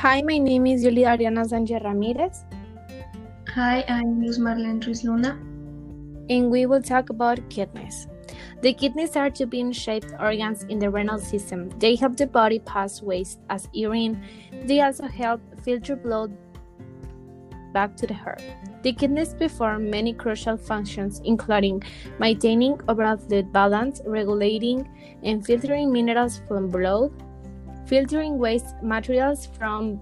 Hi, my name is Julia Ariana Sanchez Ramirez, Hi, I'm Luz Marlene Ruiz Luna. and we will talk about kidneys. The kidneys are two bean-shaped organs in the renal system. They help the body pass waste as urine. They also help filter blood back to the heart. The kidneys perform many crucial functions, including maintaining overall fluid balance, regulating and filtering minerals from blood, filtering waste materials from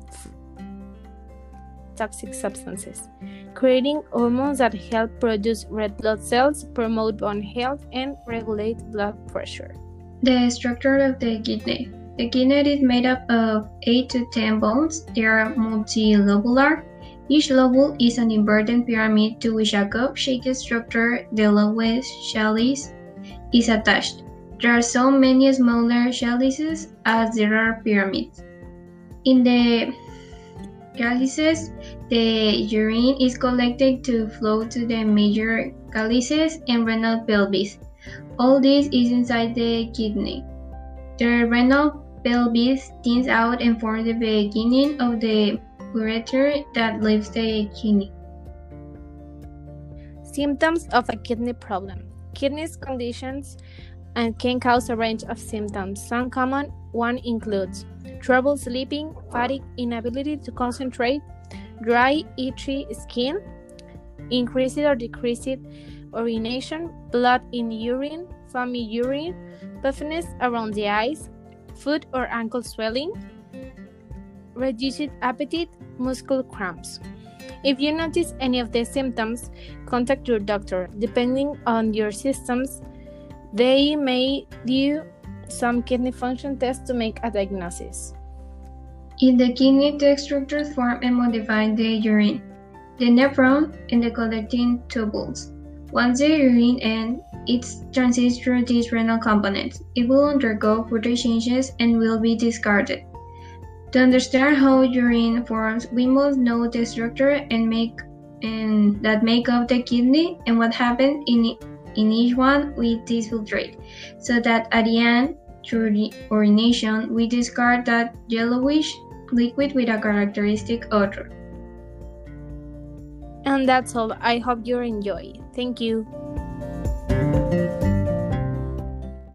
toxic substances, creating hormones that help produce red blood cells, promote bone health, and regulate blood pressure. The structure of the kidney. The kidney is made up of 8 to 10 bones. They are multilobular. Each lobule is an inverted pyramid to which a cup-shaped structure, the lowest chalice, is attached. There are so many smaller chalices as there are pyramids. In the chalices, the urine is collected to flow to the major chalices and renal pelvis. All this is inside the kidney. The renal pelvis thins out and forms the beginning of the ureter that leaves the kidney. Symptoms of a kidney problem. Kidneys conditions and can cause a range of symptoms. Some common one includes trouble sleeping, fatigue, inability to concentrate, dry, itchy skin, increased or decreased urination, blood in urine, foamy urine, puffiness around the eyes, foot or ankle swelling, reduced appetite, muscle cramps. If you notice any of these symptoms, contact your doctor. Depending on your symptoms, they may do some kidney function tests to make a diagnosis. In the kidney, the structures form and modify the urine, the nephron, and the collecting tubules. Once the urine ends, it transits through these renal components. It will undergo further changes and will be discarded. To understand how urine forms, we must know the structure that make up the kidney and what happens in each one with this filtrate, so that at the end, through urination, we discard that yellowish liquid with a characteristic odor. And that's all. I hope you enjoy. Thank you.